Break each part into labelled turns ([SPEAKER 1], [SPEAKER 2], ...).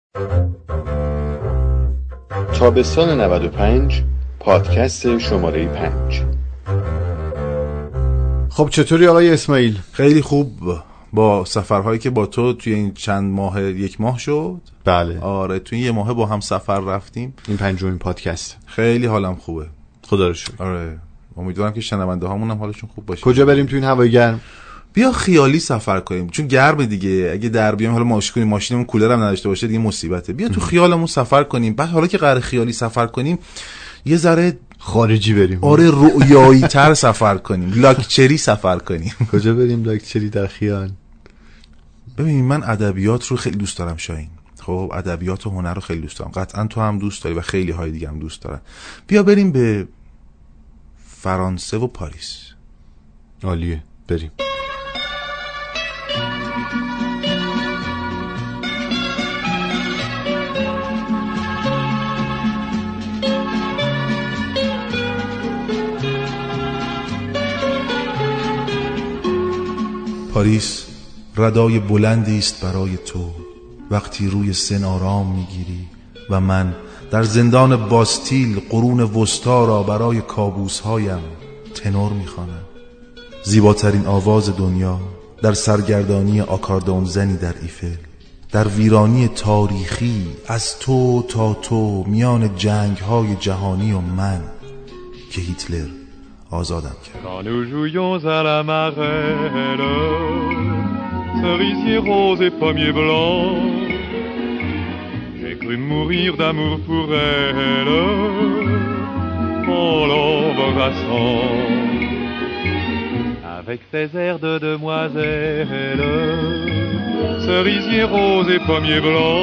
[SPEAKER 1] تابستان 95 پادکست شماره 5.
[SPEAKER 2] خب چطوری آقای اسماعیل؟
[SPEAKER 3] خیلی خوب. با سفرهایی که با تو توی این چند ماه، یک ماه شد.
[SPEAKER 2] بله
[SPEAKER 3] آره توی یه ماه با هم سفر رفتیم.
[SPEAKER 2] این پنجمین پادکست.
[SPEAKER 3] خیلی حالم خوبه
[SPEAKER 2] خدا رو شکر.
[SPEAKER 3] آره امیدوارم که شنونده هامون هم حالشون خوب باشه.
[SPEAKER 2] کجا بریم تو این هوای گرم؟
[SPEAKER 3] بیا خیالی سفر کنیم چون گرمه دیگه. اگه در بیام حالا ماشینمون کولر هم نداشته باشه دیگه مصیبته. بیا تو خیالمون سفر کنیم. بعد حالا که قراره خیالی سفر کنیم یه ذره
[SPEAKER 2] خارجی بریم.
[SPEAKER 3] آره رؤیایی تر سفر کنیم. لاکچری سفر کنیم.
[SPEAKER 2] کجا بریم لاکچری در خیال؟
[SPEAKER 3] ببین من ادبیات رو خیلی دوست دارم شاهین. خب ادبیات و هنر رو خیلی دوست دارم. قطعا تو هم دوست داری و خیلی های دیگه هم دوست دارن. بیا بریم به فرانسه و پاریس.
[SPEAKER 2] عالیه بریم.
[SPEAKER 3] پاریس ردای بلندی است برای تو وقتی روی سن آرام میگیری و من در زندان باستیل قرون وسطا را برای کابوسهایم تنور میخوانم. زیباترین آواز دنیا در سرگردانی آکاردون زنی در ایفل، در ویرانی تاریخی از تو تا تو میان جنگ‌های جهانی و من که هیتلر آزادم کرد.
[SPEAKER 4] Quand nous jouions à la marelle, cerisier rose et pommier blanc, j'ai cru mourir d'amour pour elle en l'embrassant. Avec ses airs de demoiselle, cerisier rose et pommier blanc,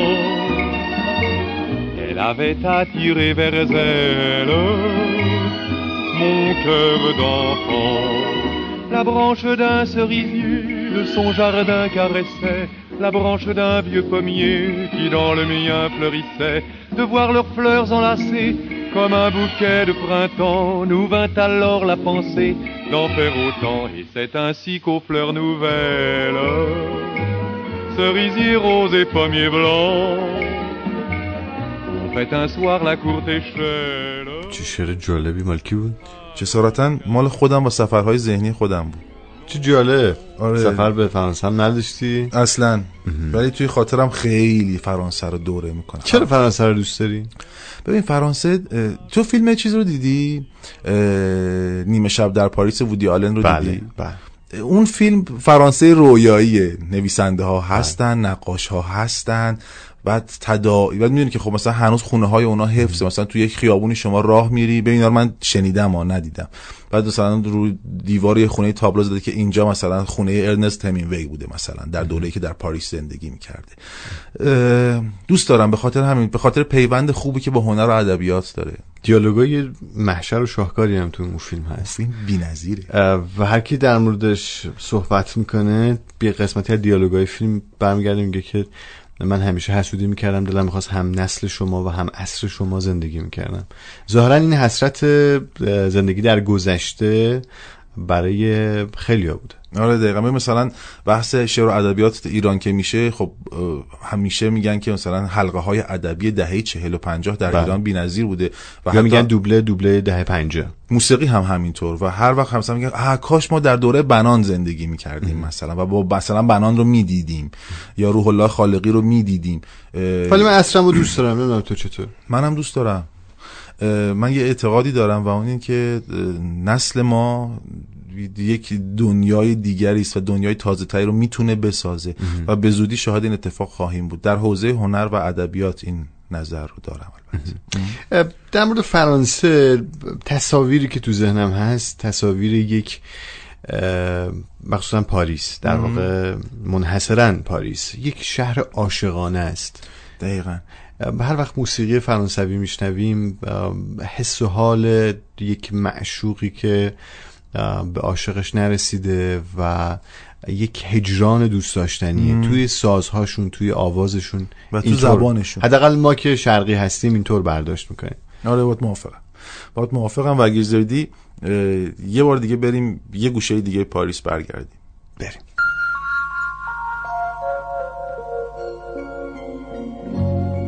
[SPEAKER 4] elle avait attiré vers elle mon cœur d'enfant. La branche d'un cerisier de son jardin caressait la branche d'un vieux pommier qui dans le mien fleurissait. De voir leurs fleurs enlacées comme un bouquet de printemps nous vint alors la pensée d'en faire autant. Et c'est ainsi qu'aux fleurs nouvelles, cerisier rose et pommier blanc, on fait un soir la courte échelle.
[SPEAKER 2] چه شعر جالبی. مال کی بود؟
[SPEAKER 3] جسارتاً مال خودم با سفرهای ذهنی خودم بود.
[SPEAKER 2] چه جالب.
[SPEAKER 3] آره.
[SPEAKER 2] سفر به فرانسه هم نداشتی؟
[SPEAKER 3] اصلاً ولی توی خاطرم خیلی فرانسه رو دوره میکنم.
[SPEAKER 2] چرا فرانسه رو دوست داری؟
[SPEAKER 3] ببین فرانسه، تو فیلم چیز رو دیدی؟ نیمه شب در پاریس وودی آلن رو دیدی؟
[SPEAKER 2] بله.
[SPEAKER 3] اون فیلم فرانسه رویاییه. نویسنده ها هستن، نقاش ها هستن، بعد بعد میدونی که خب مثلا هنوز خونه های اونا حفظه. مثلا تو یک خیابونی شما راه میری، ببین اینا رو من شنیدم ها ندیدم، بعد مثلا رو دیوار یه خونه تابلو زده که اینجا مثلا خونه ارنست همینگوی بوده مثلا در دوره‌ای که در پاریس زندگی میکرده. دوست دارم به خاطر همین، به خاطر پیوند خوبی که با هنر و ادبیات داره.
[SPEAKER 2] دیالوگای محشر و شاهکاری هم تو اون فیلم هست.
[SPEAKER 3] فیلم بی‌نظیره
[SPEAKER 2] و هر کی در موردش صحبت میکنه به قسمتی از دیالوگای فیلم برمیگرده میگه که من همیشه حسودی میکردم، دلم میخواست هم نسل شما و هم عصر شما زندگی میکردم. ظاهرا این حسرت زندگی در گذشته برای خیلیا بوده.
[SPEAKER 3] آره دقیقاً. مثلا بحث شعر و ادبیات ایران که میشه، خب همیشه میگن که مثلا حلقه های ادبی دهه 40 و 50 در ایران بی‌نظیر بوده و
[SPEAKER 2] یا میگن دوبله دهه 50.
[SPEAKER 3] موسیقی هم همینطور و هر وقت مثلا میگن کاش ما در دوره بنان زندگی میکردیم مثلا و با مثلا بنان رو میدیدیم یا روح الله خالقی رو میدیدیم.
[SPEAKER 2] ولی من عصرمو دوست دارم. نمیدونم تو چطور؟
[SPEAKER 3] منم دوست دارم. من یه اعتقادی دارم و اون این که نسل ما یک دنیای دیگری است و دنیای تازه‌تری رو میتونه بسازه و به زودی شاهد این اتفاق خواهیم بود. در حوزه هنر و ادبیات این نظر رو دارم. البته
[SPEAKER 2] در مورد فرانسه تصاویری که تو ذهنم هست تصاویر یک مخصوصا پاریس، در واقع منحصرا پاریس، یک شهر عاشقانه است.
[SPEAKER 3] دقیقاً.
[SPEAKER 2] هر وقت موسیقی فرانسوی میشنویم حس و حال یک معشوقی که به عاشقش نرسیده و یک هجران دوست داشتنیه توی سازهاشون، توی آوازشون
[SPEAKER 3] و تو زبانشون.
[SPEAKER 2] حداقل ما که شرقی هستیم اینطور برداشت میکنیم.
[SPEAKER 3] آره باید موافقم و اگه زردی یه بار دیگه بریم یه گوشه دیگه پاریس برگردیم.
[SPEAKER 2] بریم.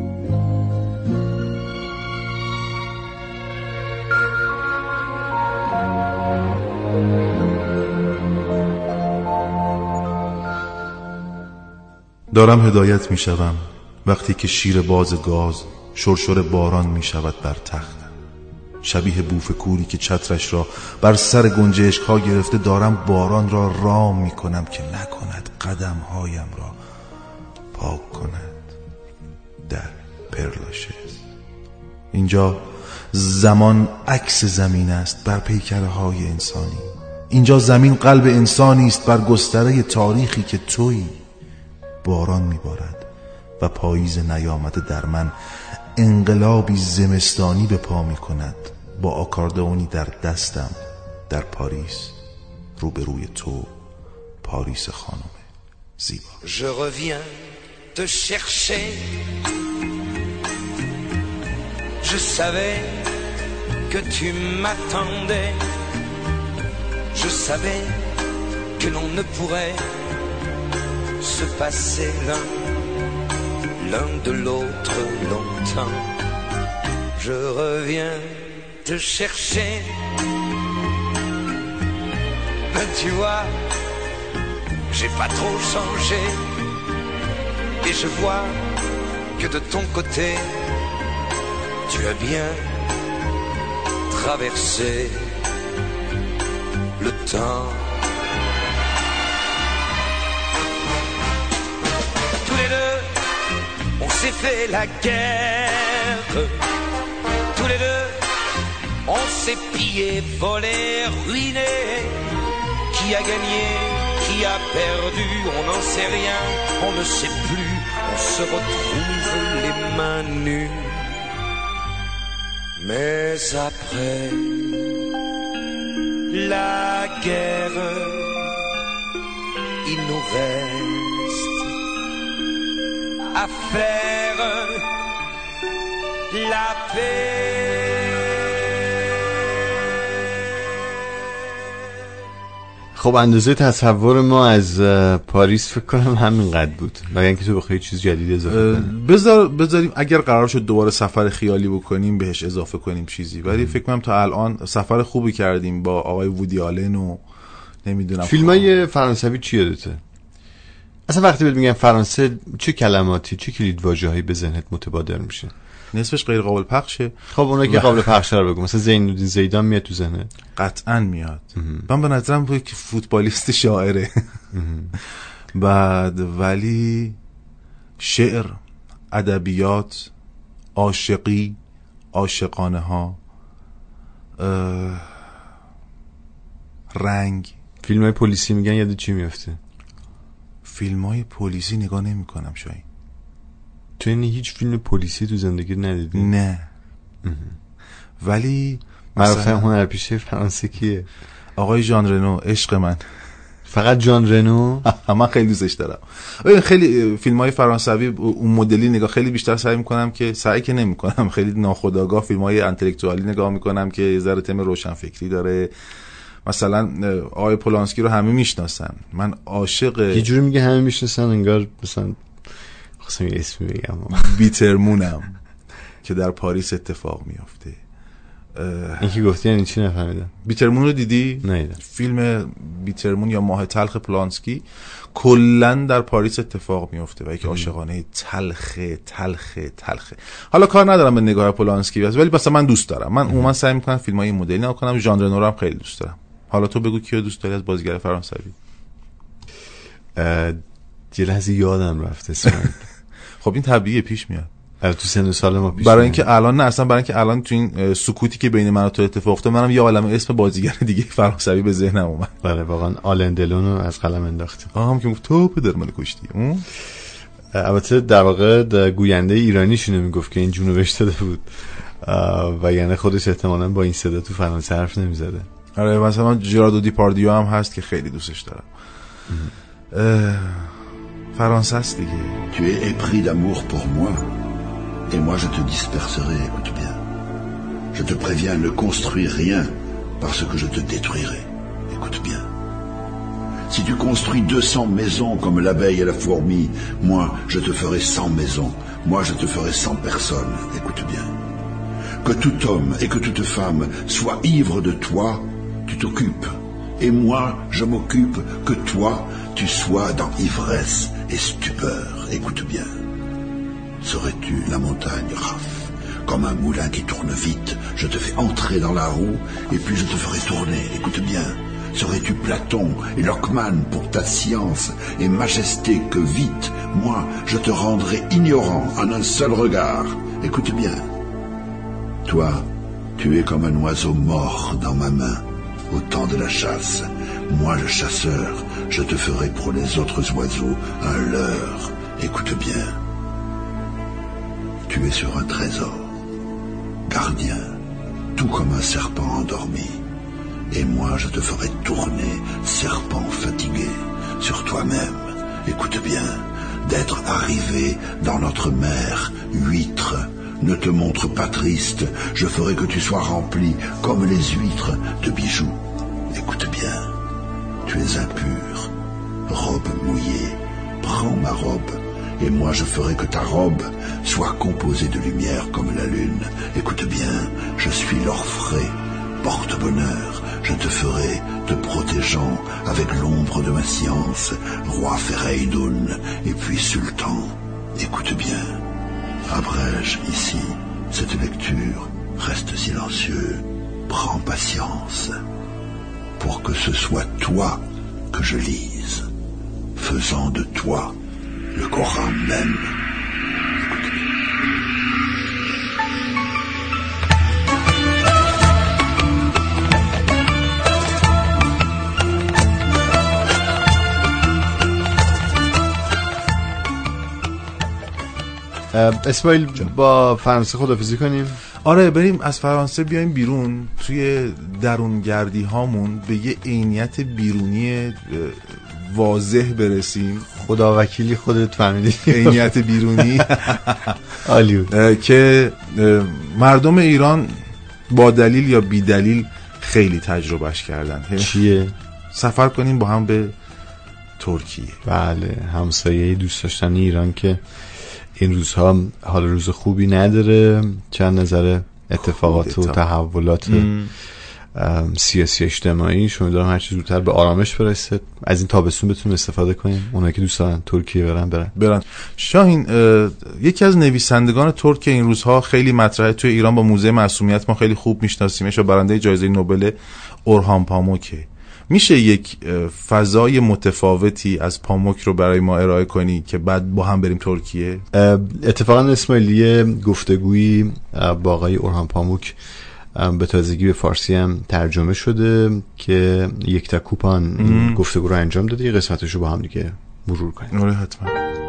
[SPEAKER 3] دارم هدایت می شوم وقتی که شیر باز گاز شرشر باران می شود بر تخت. شبیه بوف کوری که چترش را بر سر گنجشک ها گرفته دارم باران را رام می کنم که نکند قدم هایم را پاک کند. در پرلاشز. اینجا زمان عکس زمین است بر پیکره های انسانی. اینجا زمین قلب انسانی است بر گستره تاریخی که تویی. باران میبارد و پاییز نیامده در من انقلابی زمستانی به پا میکند با آکاردئونی در دستم در پاریس روبروی تو پاریس خانم زیبا.
[SPEAKER 5] Je reviens te chercher. Je savais que tu m'attendais. Je savais que l'on ne pourrait se passer l'un de l'autre longtemps. Je reviens te chercher. Mais tu vois, j'ai pas trop changé. Et je vois que de ton côté, tu as bien traversé le temps. Tous les deux, on s'est fait la guerre. Tous les deux, on s'est pillé, volé, ruiné. Qui a gagné, qui a perdu, on n'en sait rien, on ne sait plus. On se retrouve les mains nues. Mais après la guerre, il nous reste à faire la paix.
[SPEAKER 2] خب اندازه تصور ما از پاریس فکر کنم همینقدر بود. مگر اینکه تو بخوای چیز جدید اضافه کنی.
[SPEAKER 3] بذاریم اگر قرار شد دوباره سفر خیالی بکنیم بهش اضافه کنیم چیزی. ولی فکر کنم تا الان سفر خوبی کردیم با آقای وودی آلن و نمیدونم.
[SPEAKER 2] فیلمای فرانسوی چی یادته؟ اصلا وقتی بهت میگن فرانسه چه کلماتی، چه کلیدواژه‌هایی به ذهنت متبادر میشه؟
[SPEAKER 3] نصفش غیر قابل پخشه.
[SPEAKER 2] خب اونایی که قابل پخشه رو بگو. مثلا زینالدین زیدان میاد تو ذهنت؟
[SPEAKER 3] قطعاً میاد. من به نظرم تو که فوتبالیست شاعره. بعد ولی شعر، ادبیات، عاشقی، عاشقانه ها، رنگ.
[SPEAKER 2] فیلمای پلیسی میگن یاد چی میفته؟
[SPEAKER 3] فیلمای پلیسی نگاه نمی کنم شاید.
[SPEAKER 2] تو این هیچ فیلم پلیسی تو زندگی ندیدی؟
[SPEAKER 3] نه. ولی
[SPEAKER 2] معروفه هنرپیشه فرانسه کیه؟
[SPEAKER 3] آقای ژان رنو، عشق من.
[SPEAKER 2] فقط ژان رنو؟
[SPEAKER 3] من خیلی دوستش دارم. خیلی فیلم‌های فرانسوی اون مدلی نگاه خیلی بیشتر سعی می‌کنم که نمی‌کنم خیلی ناخودآگاه فیلم‌های انتلکتوالی نگاه می‌کنم که یه ذره تم روشنفکری داره. مثلا آقای پولانسکی رو همه میشناسن. من عاشق
[SPEAKER 2] یه جوری میگه همه میشناسن انگار مثلا خواستم یه اسمی بگم.
[SPEAKER 3] بیترمونم که در پاریس اتفاق میفته.
[SPEAKER 2] این که گفتی یعنی چی نفهمیدم.
[SPEAKER 3] بیترمون رو دیدی؟
[SPEAKER 2] نه.
[SPEAKER 3] فیلم بیترمون یا ماه تلخ پولانسکی کلن در پاریس اتفاق میفته و یک عاشقانه تلخه. حالا کار ندارم به نگاه پولانسکی ولی مثلا من دوست دارم. من عموما سعی میکنم فیلمای این مدلی نگاه کنم. ژان رنو رو هم خیلی دوست دارم. حالا تو بگو کیو دوست داری از بازیگر فرانسوی؟
[SPEAKER 2] یه لحظه یادم رفته اسمش.
[SPEAKER 3] خب این طبیعیه، پیش میاد.
[SPEAKER 2] تو سن سال ما پیش
[SPEAKER 3] برای اینکه الان نه، اصلا برای اینکه الان تو این سکوتی که بین من و تو اتفاق افتاد منم یه عالمه اسم بازیگر دیگه فرانسوی به ذهنم اومد.
[SPEAKER 2] بله واقعا آلن دلون رو از قلم انداختیم.
[SPEAKER 3] هم که گفت تو پدر منو کشتی.
[SPEAKER 2] البته در واقع گوینده ایرانیشونه میگفت که این جونو بهش داده بود و یعنی خودش احتمالاً با این صدا تو فرانسه حرف نمیزده.
[SPEAKER 3] آره مثلا جراردو دیپاردیو هم هست که خیلی دوستش دارم. فرانسه است دیگه.
[SPEAKER 6] Tu es épris d'amour pour moi et moi je te disperserai, écoute bien. Je te préviens, ne construis rien parce que je te détruirai. Écoute bien. Si tu construis 200 maisons comme l'abeille et la fourmi, moi je te ferai 100 maisons. Moi je te ferai 100 personnes. Écoute bien. Que tout homme et que toute femme soient ivres de toi, tu t'occupes. Et moi je m'occupe que toi tu sois dans ivresse et stupeur. Écoute bien. Serais-tu la montagne, Raph? Comme un moulin qui tourne vite, je te fais entrer dans la roue et puis je te ferai tourner. Écoute bien. Serais-tu Platon et Lockman pour ta science et majesté que vite, moi, je te rendrai ignorant en un seul regard. Écoute bien. Toi, tu es comme un oiseau mort dans ma main au temps de la chasse. Moi, le chasseur, je te ferai pour les autres oiseaux un leurre. Écoute bien. Tu es sur un trésor, gardien, tout comme un serpent endormi. Et moi, je te ferai tourner, serpent fatigué, sur toi-même. Écoute bien, d'être arrivé dans notre mer, huître. Ne te montre pas triste, je ferai que tu sois rempli, comme les huîtres, de bijoux. Écoute bien, tu es impur, robe mouillée, prends ma robe, et moi je ferai que ta robe soit composée de lumière comme la lune. Écoute bien, je suis l'orfraie, porte-bonheur, je te ferai te protégeant avec l'ombre de ma science, roi Féreidoun, et puis sultan. Écoute bien, abrège ici cette lecture, reste silencieux, prends patience, pour que ce soit toi que je lise, faisant de toi le Coran même.
[SPEAKER 2] اسماعیل با فرانسه خداحافظی کنیم.
[SPEAKER 3] آره بریم از فرانسه بیایم بیرون، توی درونگردی هامون به یه عینیت بیرونی واضح برسیم.
[SPEAKER 2] خدا وکیلی خودت فهمیدی
[SPEAKER 3] عینیت بیرونی
[SPEAKER 2] عالی
[SPEAKER 3] که مردم ایران با دلیل یا بی دلیل خیلی تجربهش کردن.
[SPEAKER 2] چیه؟
[SPEAKER 3] سفر کنیم با هم به ترکیه.
[SPEAKER 2] بله، همسایه دوست داشتن ایران که این روزها حال روز خوبی نداره، چند نظر اتفاقات و تحولات سیاسی اجتماعی. شما دارم هر چیز زودتر به آرامش برسه، از این تابستون بتونیم استفاده کنیم. اونایی که دوست دارن ترکیه برن.
[SPEAKER 3] شاهین، یکی از نویسندگان ترک این روزها خیلی مطرحه توی ایران، با موزه معصومیت ما خیلی خوب میشناسیمش و برنده جایزه نوبل اورهان پاموکه. میشه یک فضای متفاوتی از پاموک رو برای ما ارائه کنی که بعد با هم بریم ترکیه؟
[SPEAKER 2] اتفاقا اسماعیلی گفتگویی با آقای اورهان پاموک به تازگی به فارسی هم ترجمه شده که یک تا کوپان این گفتگو رو انجام داده. یه قسمتش رو با هم دیگه مرور کنیم.
[SPEAKER 3] آره حتما.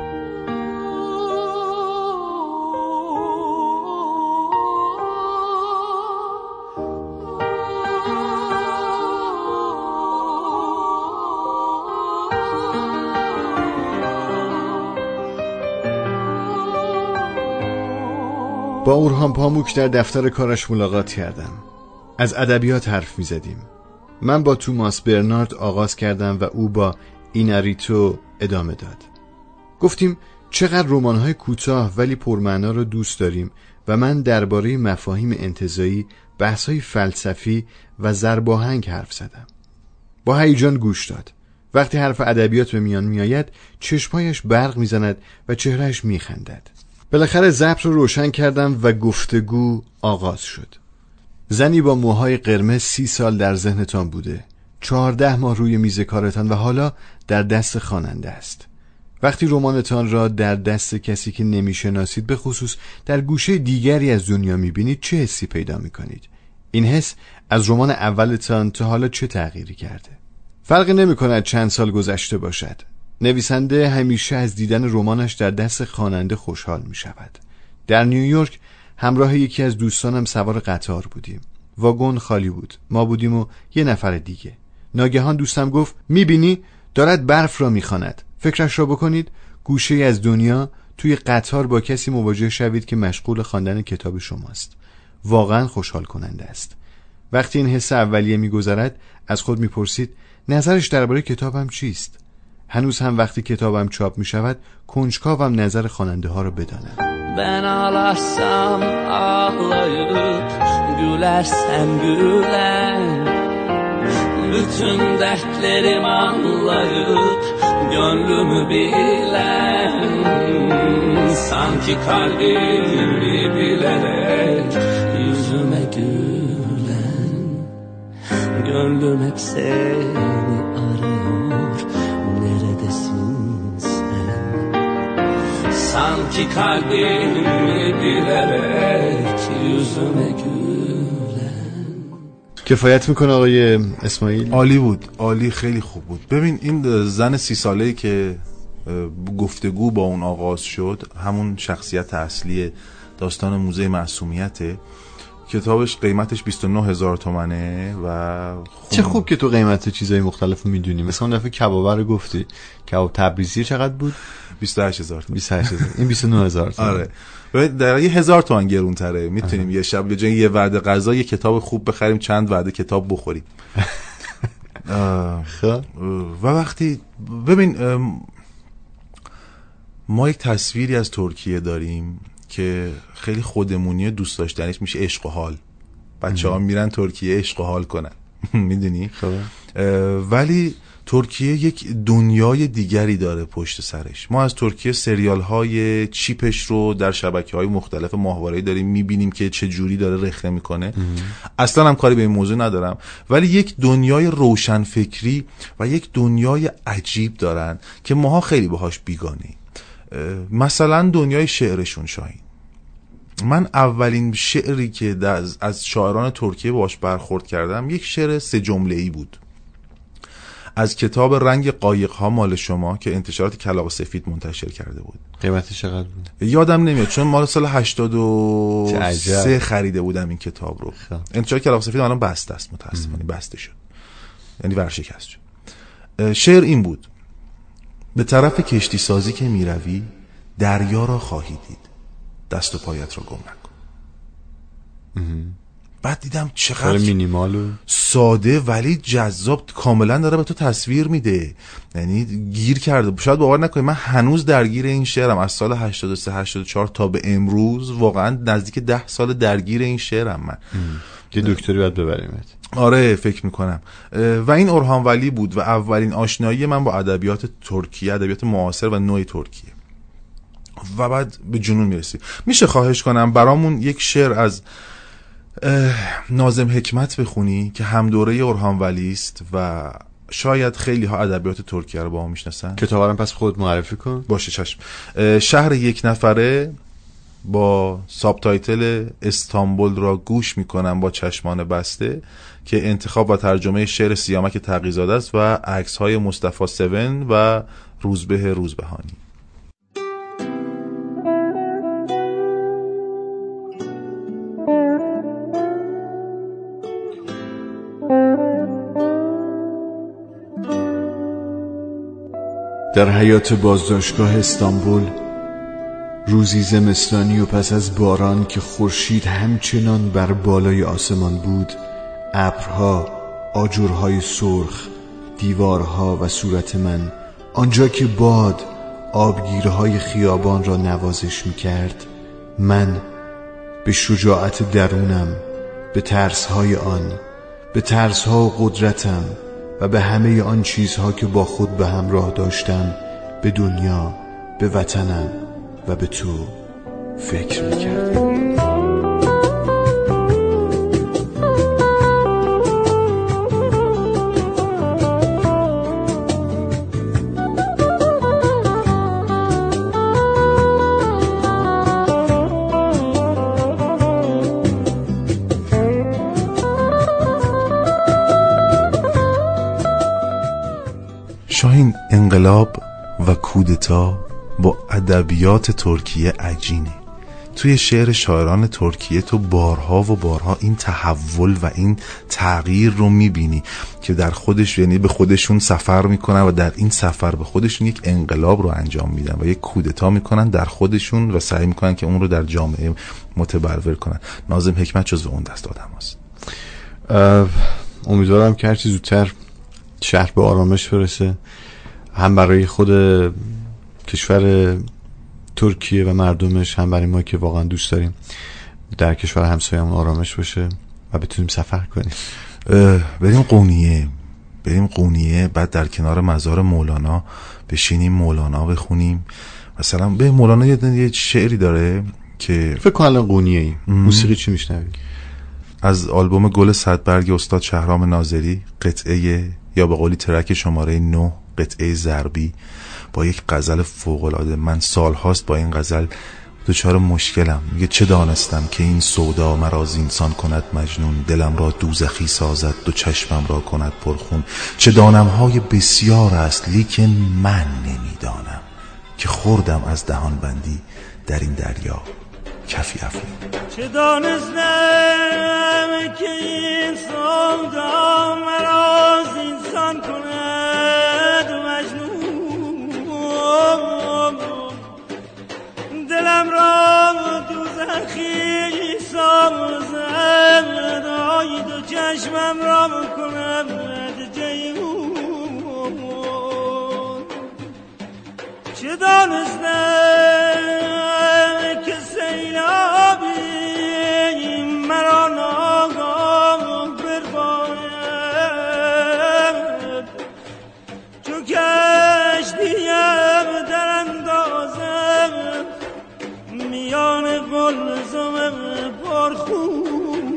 [SPEAKER 2] با اورهان پاموک در دفتر کارش ملاقات کردم. از ادبیات حرف می زدیم. من با توماس برنارد آغاز کردم و او با ایناریتو ادامه داد. گفتیم چقدر رمان‌های کوتاه ولی پرمعنا رو دوست داریم و من درباره مفاهیم انتزاعی، بحث‌های فلسفی و ضرباهنگ حرف زدم. با هیجان گوش داد. وقتی حرف ادبیات به میان میآید چشمایش برق میزند و چهرهش میخندد. بالاخره ضبط رو روشن کردم و گفتگو آغاز شد. زنی با موهای قرمز 30 سال در ذهنتان بوده، 14 ماه روی میز کارتان و حالا در دست خواننده است. وقتی رمانتان را در دست کسی که نمیشناسید، به خصوص در گوشه دیگری از دنیا میبینید، چه حسی پیدا میکنید؟ این حس از رمان اولتان تا حالا چه تغییری کرده؟ فرقی نمیکند چند سال گذشته باشد. نویسنده همیشه از دیدن رمانش در دست خواننده خوشحال می شود. در نیویورک همراه یکی از دوستانم سوار قطار بودیم. واگن خالی بود. ما بودیم و یه نفر دیگه. ناگهان دوستم گفت میبینی دارد برف را میخواند. فکرش را بکنید گوشه از دنیا توی قطار با کسی مواجه شوید که مشغول خواندن کتاب شماست. واقعا خوشحال کننده است. وقتی این حس اولیه میگذرد از خود میپرسید نظرش درباره کتابم چیست؟ هنوز هم وقتی کتابم چاپ می شود کنجکاوم نظر خواننده ها رو بدانم.
[SPEAKER 7] Ben ağlasam ağlayıp gülersem gülen bütün dertlerimi anlayıp gönlümü bilen, sanki kalbimi bilerek yüzüme gülen. Gönlüm hep seni arıyor, neredesin sen? Sanki kalbimi bilerek yüzüme gülen.
[SPEAKER 2] کفایت میکنه آقای اسماعیل؟
[SPEAKER 3] عالی بود، عالی، خیلی خوب بود. ببین این زن 30 ساله‌ای که گفتگو با اون آغاز شد همون شخصیت اصلی داستان موزه معصومیته. کتابش قیمتش 29,000 تومنه و
[SPEAKER 2] چه خوب که تو قیمت چیزای مختلف رو میدونی. مثلا اون دفعه کبابه رو گفتی، کباب تبریزی چقدر بود؟
[SPEAKER 3] 28,000 تومن.
[SPEAKER 2] 28,000. این 29,000 تومن.
[SPEAKER 3] آره. در 1,000 تومن گرون تره. میتونیم یه شب به یه وعده غذا یه کتاب خوب بخریم، چند وعده کتاب بخوریم. و وقتی ببین ما یک تصویری از ترکیه داریم که خیلی خودمونی دوست داشتنیش میشه عشق و حال. بچه‌ها میرن ترکیه عشق و حال کنن. میدونی؟ ولی ترکیه یک دنیای دیگری داره پشت سرش. ما از ترکیه سریال های چیپش رو در شبکه‌های مختلف ماهواره‌ای داریم میبینیم که چه جوری داره رخنه میکنه. اصلا هم کاری به این موضوع ندارم، ولی یک دنیای روشنفکری و یک دنیای عجیب دارن که ماها خیلی باهاش بیگانه‌ایم. مثلا دنیای شعرشون. شاهین، من اولین شعری که از شاعران ترکیه باهاش برخورد کردم یک شعر 3 جمله‌ای بود از کتاب رنگ قایق‌ها مال شما که انتشارات کلاغ سفید منتشر کرده بود.
[SPEAKER 2] قیمتش چقدر بود؟
[SPEAKER 3] یادم نمیاد چون مال سال 83 خریده بودم این کتاب رو. انتشارات کلاغ سفید الان بسته است، متاسفانه بسته شد، یعنی ورشکست شد. شعر این بود: به طرف کشتی سازی که میروی دریا را خواهی دید، دست و پایت را گم نکن. بعد دیدم چقدر
[SPEAKER 2] مینیمال و
[SPEAKER 3] ساده ولی جذاب، کاملا داره به تو تصویر میده، یعنی گیر کرده. شاید باور نکنی من هنوز درگیر این شعرم. از سال 83 84 تا به امروز واقعا نزدیک 10 سال درگیر این شعرم من.
[SPEAKER 2] یه دکتری باید ببریمت.
[SPEAKER 3] آره فکر میکنم. و این اورهان ولی بود و اولین آشنایی من با ادبیات ترکیه، ادبیات معاصر و نوع ترکیه. و بعد به جنون میرسی. میشه خواهش کنم برامون یک شعر از ناظم حکمت بخونی که هم دوره اورهان ولی است و شاید خیلی ها ادبیات ترکیه رو با هم میشناسن.
[SPEAKER 2] کتاب رو پس خود معرفی کن.
[SPEAKER 3] باشه چشم. شهر یک نفره با ساب تایتل استانبول را گوش میکنم با چشمان بسته که انتخاب و ترجمه شعر سیامک تقی‌زاده است و عکس های مصطفی 7 و روزبه روزبهانی.
[SPEAKER 2] در حیات بازداشتگاه استانبول روزی زمستانی و پس از باران که خورشید همچنان بر بالای آسمان بود، ابرها، آجرهای سرخ، دیوارها و صورت من، آنجا که باد آبگیرهای خیابان را نوازش می کرد، من به شجاعت درونم، به ترسهای آن، به ترسها و قدرتم و به همه آن چیزها که با خود به همراه داشتم، به دنیا، به وطنم و به تو فکر میکردم.
[SPEAKER 3] شاهین، انقلاب و کودتا با ادبیات ترکیه عجینه. توی شعر شاعران ترکیه تو بارها و بارها این تحول و این تغییر رو میبینی که در خودش، یعنی به خودشون سفر میکنن و در این سفر به خودشون یک انقلاب رو انجام میدن و یک کودتا میکنن در خودشون و سعی میکنن که اون رو در جامعه متبلور کنن. ناظم حکمت جزو اون دست آدم هست.
[SPEAKER 2] امیدوارم که هرچی زودتر شهر به آرامش برسه، هم برای خود کشور ترکیه و مردمش، هم برای ما که واقعا دوست داریم در کشور همسایه‌مون آرامش باشه و بتونیم سفر کنیم.
[SPEAKER 3] بریم قونیه. بریم قونیه، بعد در کنار مزار مولانا بشینیم مولانا بخونیم. مثلا به مولانا یه شعری داره که
[SPEAKER 2] فکر کنم الان قونیه موسیقی چی میشنوی؟
[SPEAKER 3] از آلبوم گل صدبرگ استاد شهرام ناظری، قطعه یا به قولی ترک شماره 9 قطعه ضربی با یک غزل فوق‌العاده. من سالهاست با این غزل دچار مشکلم. میگه چه دانستم که این سودا مرا زینسان کند مجنون، دلم را دوزخی سازد دو چشمم را کند پرخون. چه دانم‌های بسیار است لیکن من نمیدانم، که خوردم از دهان بندی در این دریا کفی افیون.
[SPEAKER 8] چه دانستم که این سودا مرا زینسان کند مجنون، دلم را دوزخی سازد آی دو چشمم را کند جیحون. چه دانستم که سیلابی مرا ناگاه برباید، چون کشتیم در اندازم میان قلزم پرخون.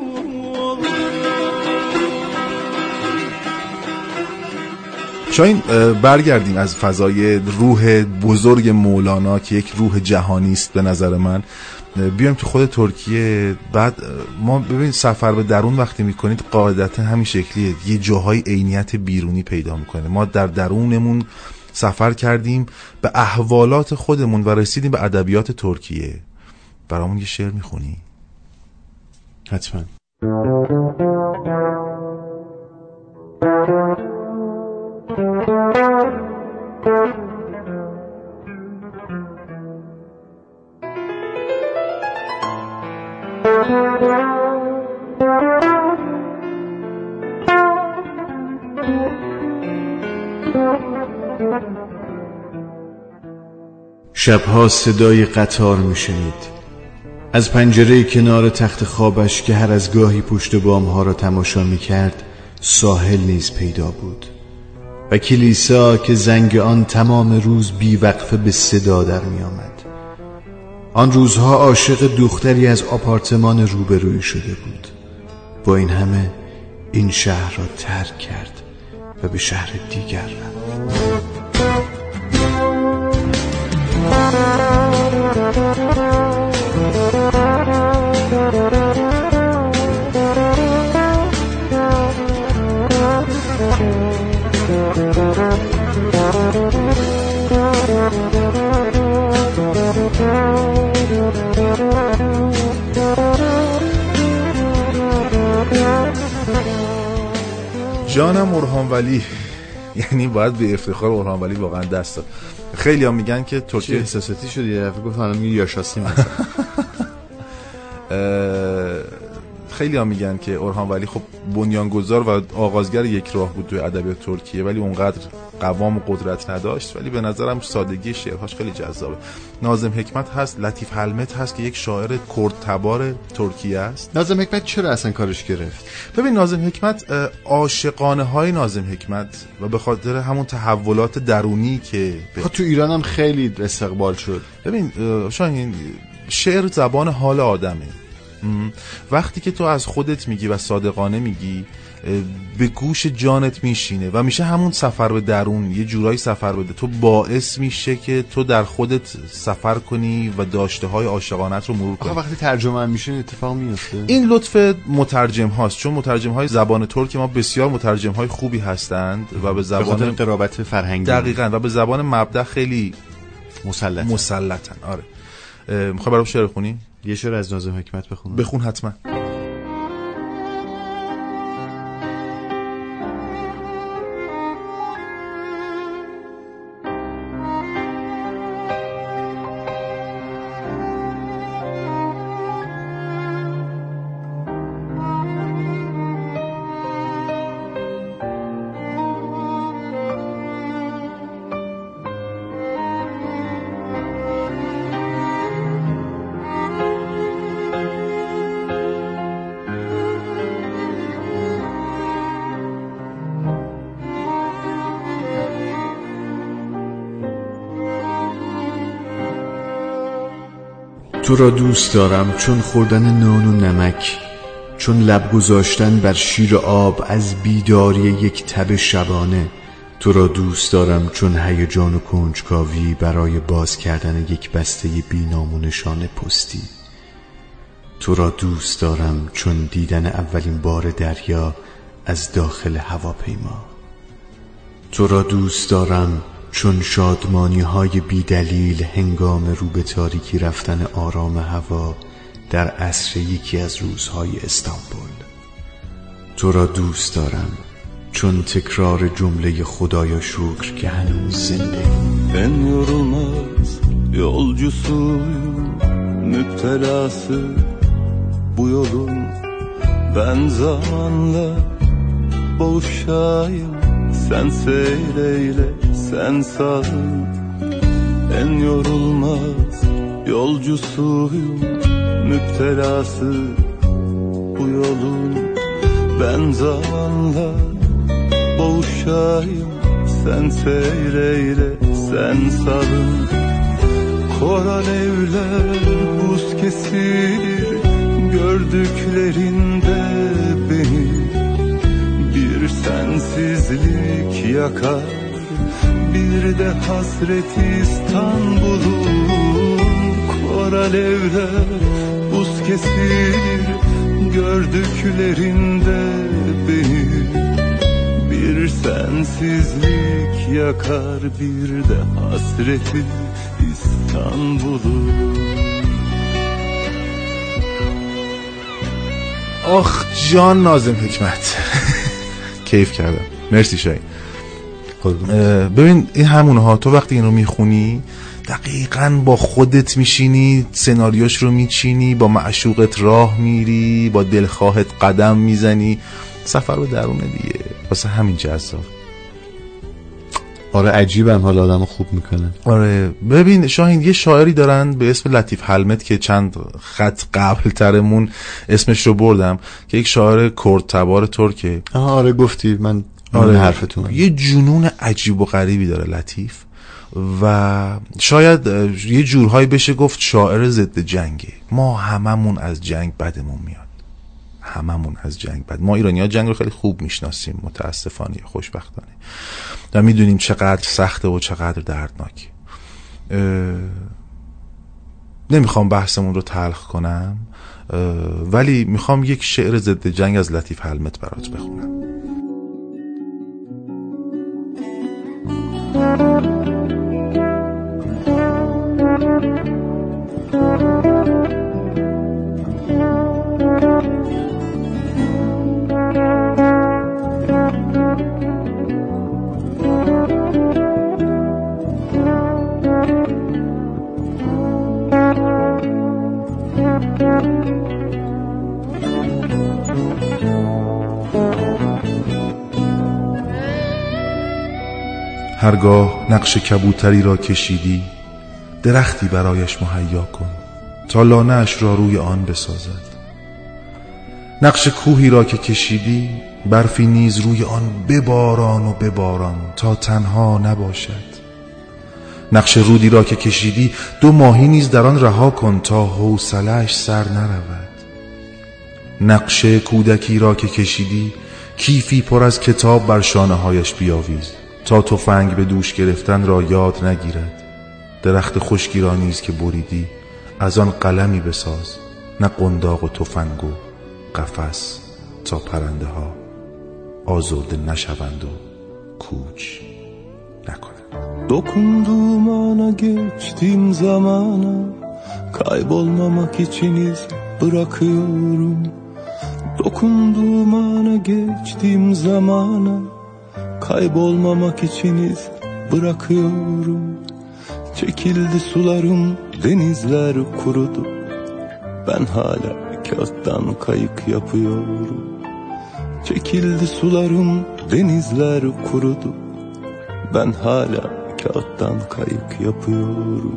[SPEAKER 3] شاید برگردیم از فضای روح بزرگ مولانا که یک روح جهانی است به نظر من، بیایم تو خود ترکیه. بعد ما ببین سفر به درون وقتی میکنید قاعدتا همین شکلیه، یه جاهای عینیت بیرونی پیدا میکنه. ما در درونمون سفر کردیم به احوالات خودمون و رسیدیم به ادبیات ترکیه. برامون یه شعر میخونی؟
[SPEAKER 2] حتما. شبها صدای قطار میشنید از پنجره کنار تخت خوابش که هر از گاهی پشت بامها را تماشا میکرد. ساحل نیز پیدا بود و کلیسا که زنگ آن تمام روز بیوقفه به صدا در می آمد. آن روزها عاشق دختری از آپارتمان روبروی شده بود. با این همه این شهر را ترک کرد و به شهر دیگر رفت.
[SPEAKER 3] جانم اورهان ولی، یعنی باید به افتخار اورهان ولی واقعا دست داد. خیلی هم میگن که ترکیه
[SPEAKER 2] احساساتی شد یه دفعه گفت الان میگه یاشاسی مثلا.
[SPEAKER 3] خیلی هم میگن که اورهان ولی خب بنیانگذار و آغازگر یک راه بود توی ادبیات ترکیه، ولی اونقدر قوام و قدرت نداشت. ولی به نظرم سادگی شعرهاش خیلی جذابه. ناظم حکمت هست، لطیف حلمت هست که یک شاعر کرد تبار ترکیه است.
[SPEAKER 2] ناظم حکمت چرا اصلا کارش گرفت؟
[SPEAKER 3] ببین ناظم حکمت عاشقانه های ناظم حکمت و به خاطر همون تحولات درونی که
[SPEAKER 2] تو ایران هم خیلی استقبال شد.
[SPEAKER 3] ببین شاهین، شعر زبان حال آدمه. وقتی که تو از خودت میگی و صادقانه میگی به گوش جانت میشینه و میشه همون سفر به درون، یه جورایی سفر بده. تو باعث میشه که تو در خودت سفر کنی و داشته های عاشقانت رو مرور کنی.
[SPEAKER 2] وقتی ترجمه هم میشه اتفاق میفته.
[SPEAKER 3] این لطف مترجم هاست، چون مترجم های زبان ترک ما بسیار مترجم های خوبی هستند و به زبان
[SPEAKER 2] قرابت فرهنگی
[SPEAKER 3] دقیقاً و به زبان مبدأ خیلی مسلطن. آره. میخوای برام شعر بخونی؟
[SPEAKER 2] یه شعر از ناظم حکمت بخون.
[SPEAKER 3] بخون حتما.
[SPEAKER 2] تو را دوست دارم چون خوردن نان و نمک، چون لب گذاشتن بر شیر آب از بیداری یک تب شبانه. تو را دوست دارم چون هیجان و کنجکاوی برای باز کردن یک بسته بی‌نام و نشان پستی. تو را دوست دارم چون دیدن اولین بار دریا از داخل هواپیما. تو را دوست دارم چون شادمانی های بی دلیل هنگام رو به تاریکی رفتن آرام هوا در عصر یکی از روزهای استانبول. تو را دوست دارم چون تکرار جمله خدایا شکر که هنوز زنده.
[SPEAKER 9] En yorulmaz yolcusuyum, müptelası bu yolun. Ben zamanla boğuşayım, sen seyreyle, sen sal. En yorulmaz yolcusuyum, müptelası bu yolun. Ben zamanla boğuşayım, sen seyreyle, sen salın. Koral evler buz kesilir gördüklerinde beni. Bir sensizlik yakar, bir de hasret İstanbul'un. Koral evler buz kesilir gördüklerinde beni. Bir sensizlik yakar, bir de hasreti İstanbul'u.
[SPEAKER 3] آخ جان ناظم حکمت. کیف کردم، مرسی شاید. ببین این همونه ها، تو وقتی این رو میخونی دقیقاً با خودت میشینی، سناریوش رو میچینی، با معشوقت راه میری، با دلخواهت قدم میزنی، سفر رو درونه دیگه. واسه همین جذاب.
[SPEAKER 2] آره عجیبم، حالا آدمو خوب میکنه.
[SPEAKER 3] آره ببین شاهین، یه شاعری دارن به اسم لطیف حلمت که چند خط قبل ترمون اسمش رو بردم، که یک شاعر کرد تبار ترکه.
[SPEAKER 2] آره گفتی، من
[SPEAKER 3] آره
[SPEAKER 2] حرفتون.
[SPEAKER 3] یه جنون عجیب و غریبی داره لطیف، و شاید یه جورهایی بشه گفت شاعر ضد جنگه. ما هممون از جنگ بدمون میاد، هممون از جنگ بد. ما ایرانی‌ها جنگ رو خیلی خوب میشناسیم، متاسفانه یا خوشبختانه، و میدونیم چقدر سخته و چقدر دردناکه. نمیخوام بحثمون رو تلخ کنم، ولی میخوام یک شعر ضد جنگ از لطیف حلمت برات بخونم. هرگاه نقش کبوتری را کشیدی، درختی برایش مهیا کن تا لانه‌اش را روی آن بسازد. نقش کوهی را که کشیدی، برفی نیز روی آن بباران و بباران تا تنها نباشد. نقش رودی را که کشیدی، 2 ماهی نیز در آن رها کن تا حوصله‌اش سر نرود. نقش کودکی را که کشیدی، کیفی پر از کتاب بر شانه‌هایش بیاویز تا تفنگ به دوش گرفتن را یاد نگیرد. درخت خشکی را نیز که بریدی، از آن قلمی بساز، نه قنداق و تفنگ و قفس، تا پرنده ها آزرده نشوند و کوچ نکنند.
[SPEAKER 9] Dokunduğum ana geçtiğim zamana, kaybolmamak için iz bırakıyorum. Dokunduğum ana geçtiğim zamana, kaybolmamak için iz bırakıyorum. Çekildi sularım, denizler kurudu. Ben hala kağıttan kayık yapıyorum. Çekildi sularım, denizler kurudu. Ben hala kağıttan kayık yapıyorum.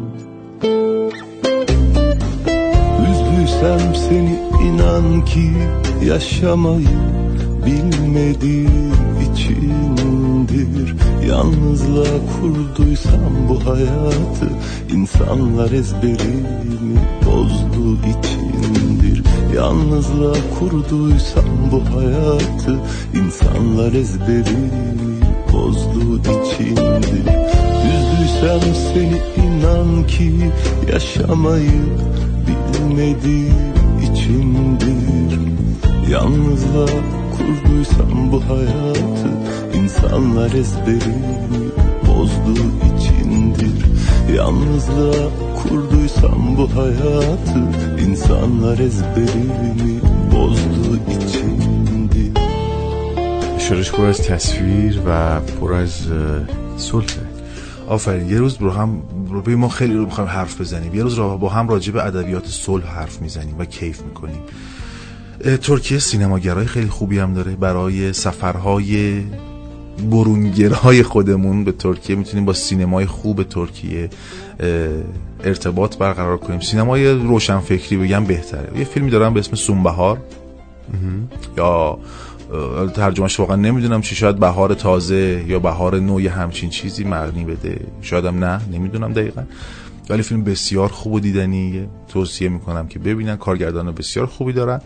[SPEAKER 9] Üzdüysem seni inan ki yaşamayı bilmediğim içindi. içindir. Yalnızla kurduysam bu hayatı, insanlar ezberimi bozdu içindir. Yalnızla kurduysam bu hayatı, insanlar ezberimi bozdu içindir. Üzdüysem seni inan ki yaşamayı bilmediğim içindir. Yalnızla kurduysam bu hayatı, insanlar ezberimi bozdu içindir. Yalnızla kurduysam bu hayatı, insanlar ezberimi bozdu içindir.
[SPEAKER 2] شعرش پر از تصویر و پر از صلح.
[SPEAKER 3] آفرین. یه روز ما خیلی رو می‌خوایم حرف بزنیم. یه روز با هم راجع به ادبیات صلح حرف میزنیم و کیف میکنیم. ترکیه سینماگرای خیلی خوبی هم داره. برای سفرهای برونگرای خودمون به ترکیه میتونیم با سینمای خوب ترکیه ارتباط برقرار کنیم. سینمای روشنفکری بگم بهتره. یه فیلمی دارم به اسم سونبهار، یا ترجمهش واقعا نمیدونم چی، شاید بهار تازه یا بهار نو، یا همچین چیزی معنی بده، شایدم نه، نمیدونم دقیقا. ولی فیلم بسیار خوب و دیدنیه، توصیه میکنم که ببینن. کارگردان بسیار خوبی دارن.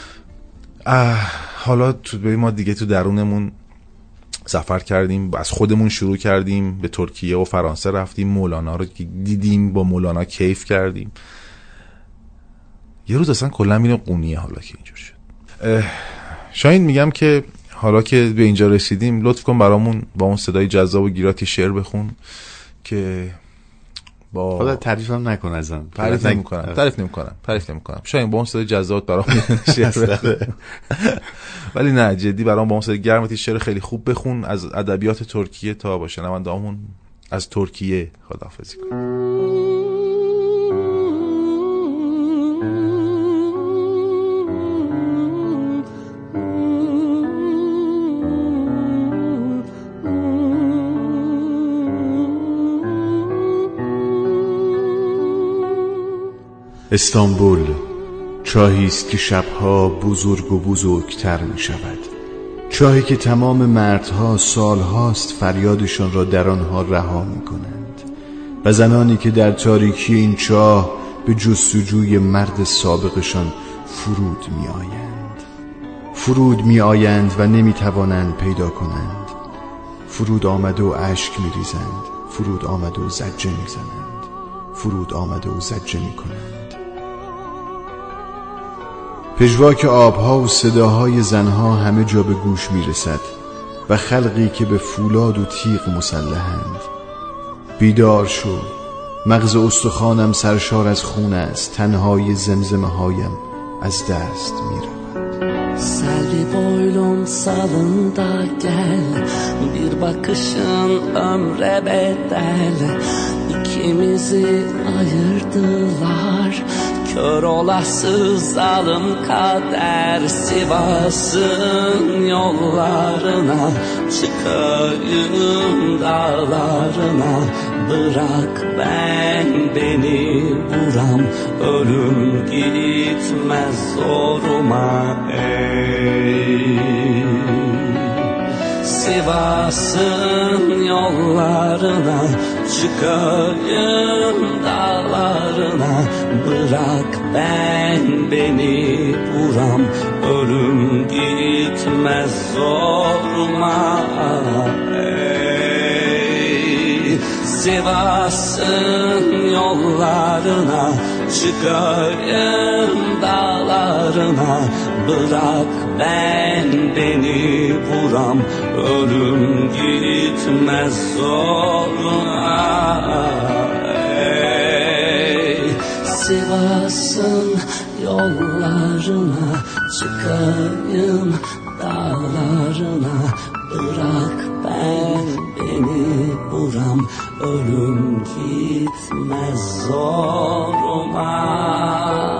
[SPEAKER 3] حالا ما دیگه تو درونمون سفر کردیم، از خودمون شروع کردیم، به ترکیه و فرانسه رفتیم، مولانا رو دیدیم، با مولانا کیف کردیم. یه روز اصلا کلا میریم قونیه. حالا که اینجور شد، شاید میگم که حالا که به اینجا رسیدیم، لطف کن برامون با اون صدای جذاب و گیراتی شعر بخون که با
[SPEAKER 2] حالا تعریفم نکن ازم.
[SPEAKER 3] تعریف نمی‌کنم. شاید با اون صدای جذاب برامون شعر بخون. ولی نه، جدی برام با اون صدای گرمتی شعر خیلی خوب بخون از ادبیات ترکیه تا با شنوندهامون از ترکیه خداحافظی کن.
[SPEAKER 2] استانبول چاهی است که شبها بزرگ و بزرگتر می شود. چاهی که تمام مردها سالهاست فریادشان را در آنها رها می کنند و زنانی که در تاریکی این چاه به جستجوی مرد سابقشان فرود می آیند و نمی توانند پیدا کنند. فرود آمده و اشک می ریزند، فرود آمده و زجه می زنند، فرود آمده و زجه می کنند. پژواک آبها و صداهای زنها همه جا به گوش می رسد و خلقی که به فولاد و تیغ مسلحند. بیدار شو، مغز استخوانم سرشار از خون است، تنهای زمزمه هایم از دست می رود.
[SPEAKER 7] Selvi boylum salında gel, bir bakışın ömre bedel. İkimizi ayırdılar, kör olası zalim kader. Sivas'ın yollarına çıkayım, dağlarına. Bırak ben beni vuram, ölüm gitmez zoruma ey. Sivas'ın yollarına çıkayım, dağlarına. Bırak ben beni vuram, ölüm gitmez zoruma ey. Sivas'ın yollarına çıkayım, dağlarına. Bırak ben beni vuram, ölüm gitmez zoruna ey. Sivas'ın yollarına çıkayım, dağlarına. Bırak ben beni vuram, ölüm gitmez zoruma.